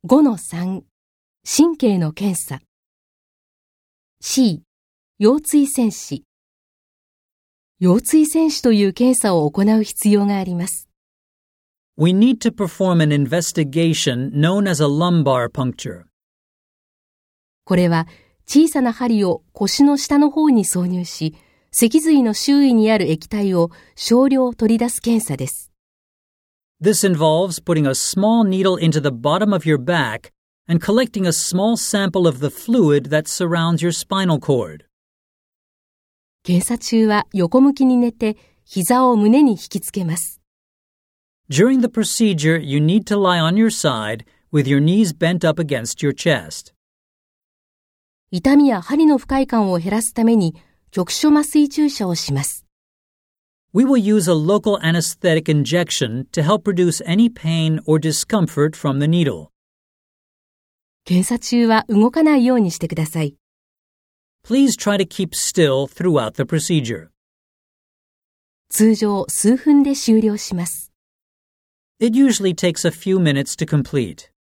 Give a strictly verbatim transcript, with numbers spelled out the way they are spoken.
ごのさん、神経の検査。C、腰椎線視。腰椎線視という検査を行う必要があります。 We need to perform an investigation known as a lumbar puncture. これは小さな針を腰の下の方に挿入し、脊髄の周囲にある液体を少量取り出す検査です。 This involves putting a small needle into the bottom of your back and collecting a small sample of the fluid that surrounds your spinal cord. 検査中は横向きに寝て膝を胸に引きつけます。 During the procedure, you need to lie on your side with your knees bent up against your chest. 痛みや針の不快感を減らすために局所麻酔注射をします。 We will use a local anesthetic injection to help reduce any pain or discomfort from the needle. 検査中は動かないようにしてください。 Please try to keep still throughout the procedure. 通常数分で終了します。 It usually takes a few minutes to complete.